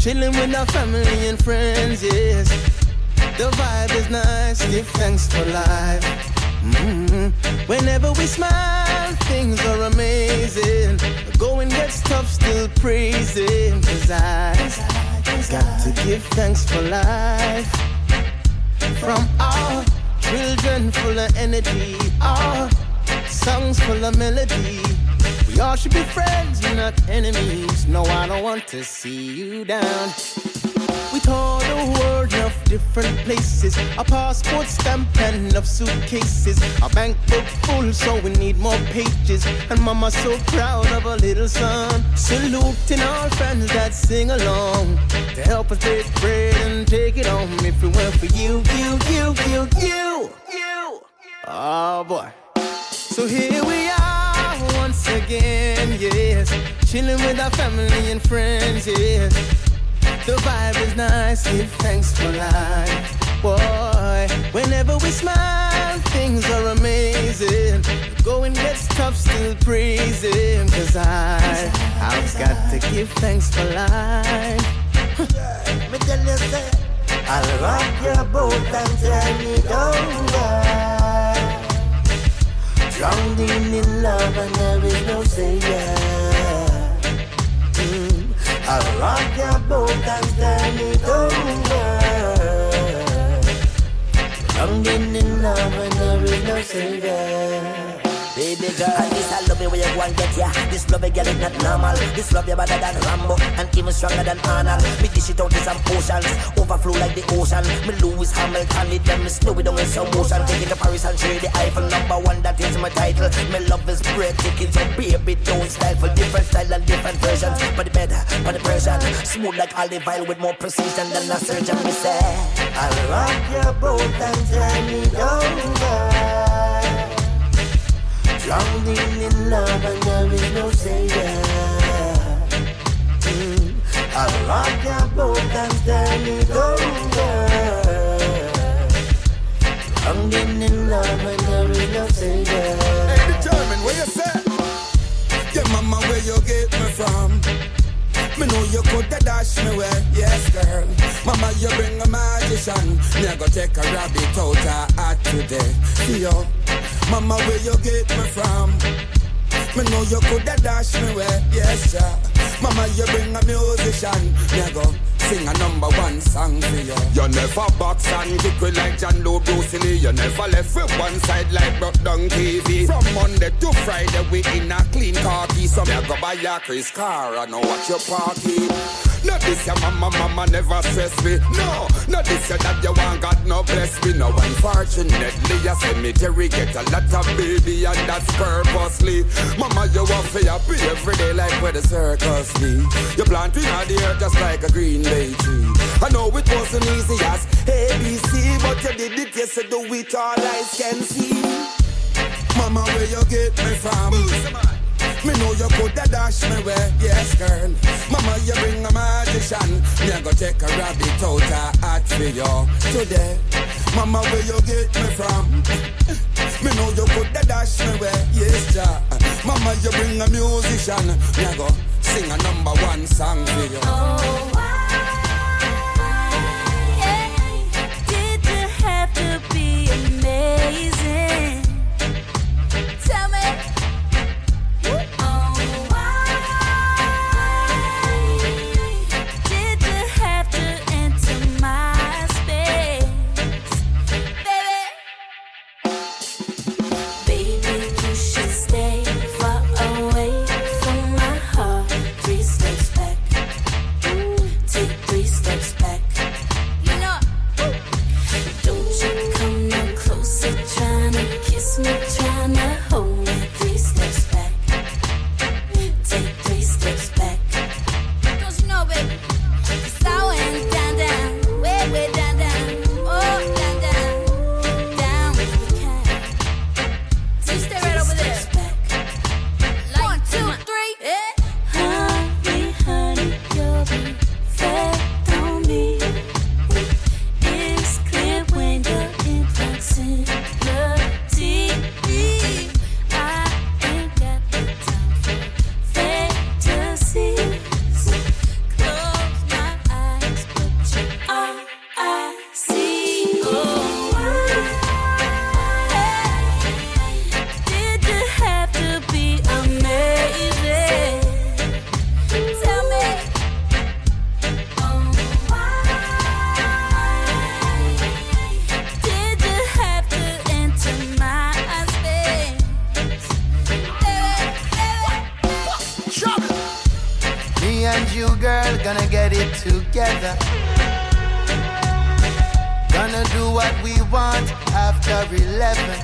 chilling with our family and friends, yes. The vibe is nice, give thanks for life. Whenever we smile, things are amazing. Going gets tough, still praising. Cause I got to give thanks for life. From our children full of energy, our songs full of melody. We all should be friends, not enemies. No, I don't want to see you down. We tour the world of different places. Our passport stamp and enough suitcases. Our bank book full, so we need more pages. And mama's so proud of her little son. Saluting all friends that sing along to help us break bread and take it home. If it weren't for you. Oh boy. So here we are once again, yes. Chilling with our family and friends, yes. The vibe is nice, give thanks for life. Boy, whenever we smile, things are amazing. Going gets tough, still praising. Cause I've got to give thanks for life. Me tell you, say, I'll rock your boat and turn it over. Drowning in love and there is no savior. I'll rock your boat and turn it over. Drowning in love and there is no savior. Baby girl, at least I love it when you go and get ya. This love girl is not normal. This love you better than Rambo and even stronger than Arnold. Me dish it out in some potions, overflow like the ocean. Me Lewis Hamilton, it them me snow it down in some motion. Take it to Paris and share the Eiffel #1, that is my title. Me love is breathtaking, so baby don't stifle. Different style and different versions, but the better, but the version smooth like olive oil with more precision than a surgeon. Me say, I'll rock your boat and turn it over. Drowning in love and there is no savior. I'll rock your boat and turn it over. Drowning in love and there is no savior. Hey, determine where you say. Yeah, mama, where you get me from? Me know you coulda dash me away, yes girl. Mama, you bring a magician. Me go take a rabbit out her hat today. Yo, mama, where you get me from? Me know you coulda dash me away, yes sir. Mama, you bring a musician. Me go sing a #1 song for you. You never box and kick it like John Lowe Bruce Lee. You never left with one side like broke down TV. From Monday to Friday we in a clean car key. So me go buy a Chris car and know what you party. Not this your mama never stress me. No, not this your that you want God no bless me. No, unfortunately a cemetery get a lot of baby and that's purposely. Mama, you want for your pay every day like where the circus be. You planting out the earth just like a green bay tree. I know it wasn't easy as ABC, but you did it, yes, you do it all eyes can see. Mama, where you get me from? Me know you coulda dash me away, yes girl. Mama, you bring a magician. Me a go take a rabbit out her hat for you today. Mama, where you get me from? Me know you coulda dash me away, yes ja. Mama, you bring a musician. Me a go sing a #1 song for you. Oh, why did you have to be amazing? Tell me. girl, gonna get it together. Gonna do what we want after 11.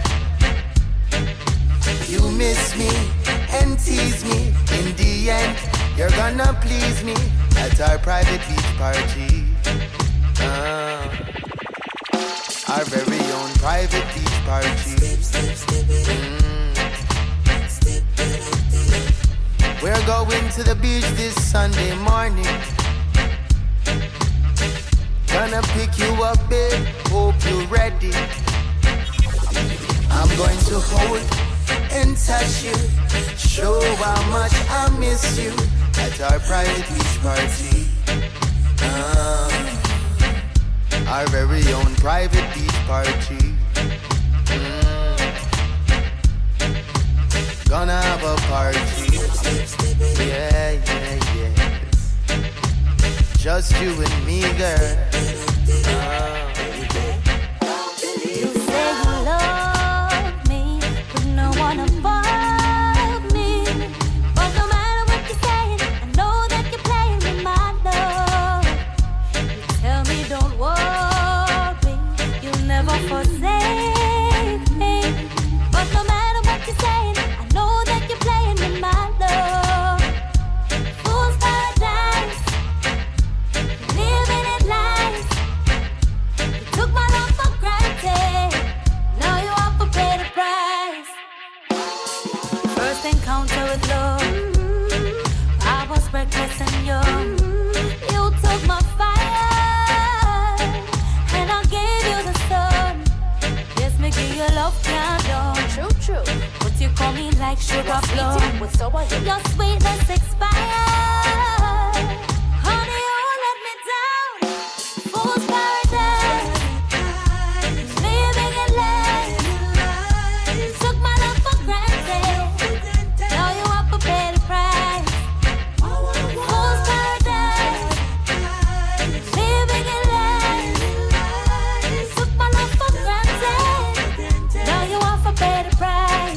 You miss me and tease me. In the end, you're gonna please me at our private beach party. Our very own private beach party. We're going to the beach this Sunday morning. Gonna pick you up, babe, hope you're ready. I'm going to hold and touch you, show how much I miss you at our private beach party. Our very own private beach party. Gonna have a party. Yeah, yeah, yeah. Just you and me, girl. You say you love me, but no one above me. But no matter what you're saying, I know that you're playing with my love. You tell me don't worry, you'll never forsake me. But no matter what you're saying, I know that you're playing with my love. Fool's paradise, living it lies. You took my love for granted, now you have to pay the price. First encounter with love, I was reckless and young. You took my fire, and I gave you the sun. Yes, me give you love, can't done. True. But you call me like sugar plum. Your sweetness expired. Honey, you let me down. Fool's paradise, living in lies. Took my love for granted, now you have to pay the price. Fool's paradise, living in lies. Took my love for granted, now you have to pay the price.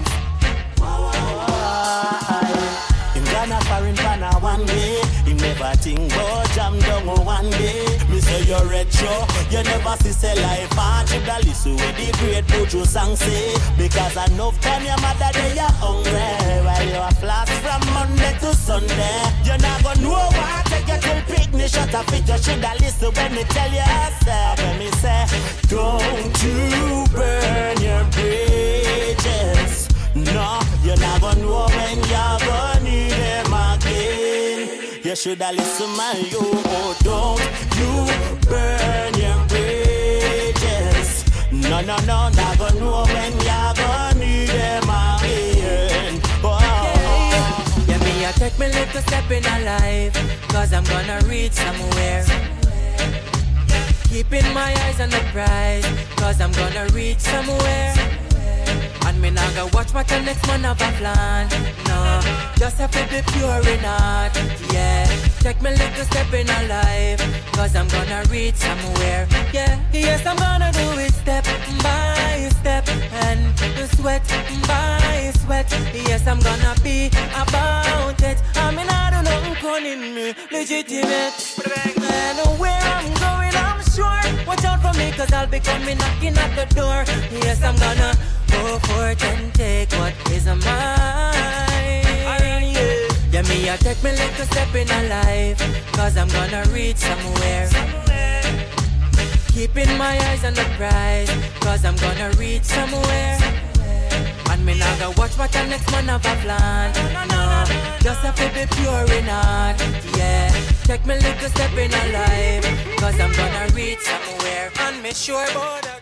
In Ghana, foreign Ghana one day. He never think about jam down one day. Me say you're retro, you never see say life and you da listen with the great Buju song say. Because enough time your mother day you're hungry, while you are flat from Monday to Sunday. You're not gonna know what take you till picnic shut up it. You shoulda listen when me tell you say. When me say, don't you burn your bridges. No, you're not gonna know when you're gonna need them again. You shoulda listen, man, you. Oh, don't you burn your bridges. No, not gonna know when you're gonna need them again. Oh. Yeah, me, I take me little step in a life, cause I'm gonna reach somewhere. Keeping my eyes on the prize, cause I'm gonna reach somewhere. And me not gonna watch what the next man have a plan. No, just have to be pure in heart. Yeah, take me little step in a life, cause I'm gonna reach somewhere. Yeah, yes, I'm gonna do it step by step, and sweat by sweat. Yes, I'm gonna be about it. I mean, I don't know who's calling me legitimate. And where I'm going, I'm sure. Watch out for me, cause I'll be coming knocking at the door. Yes, I'm gonna go for it and take what is mine. Yeah, me, I take me little step in a life, cause I'm gonna reach somewhere. Keeping my eyes on the prize, cause I'm gonna reach somewhere. And me not gonna watch what the next man have a plan. No, just have to be pure in heart. Yeah, take me little step in a life, cause I'm gonna reach somewhere. And me sure about that.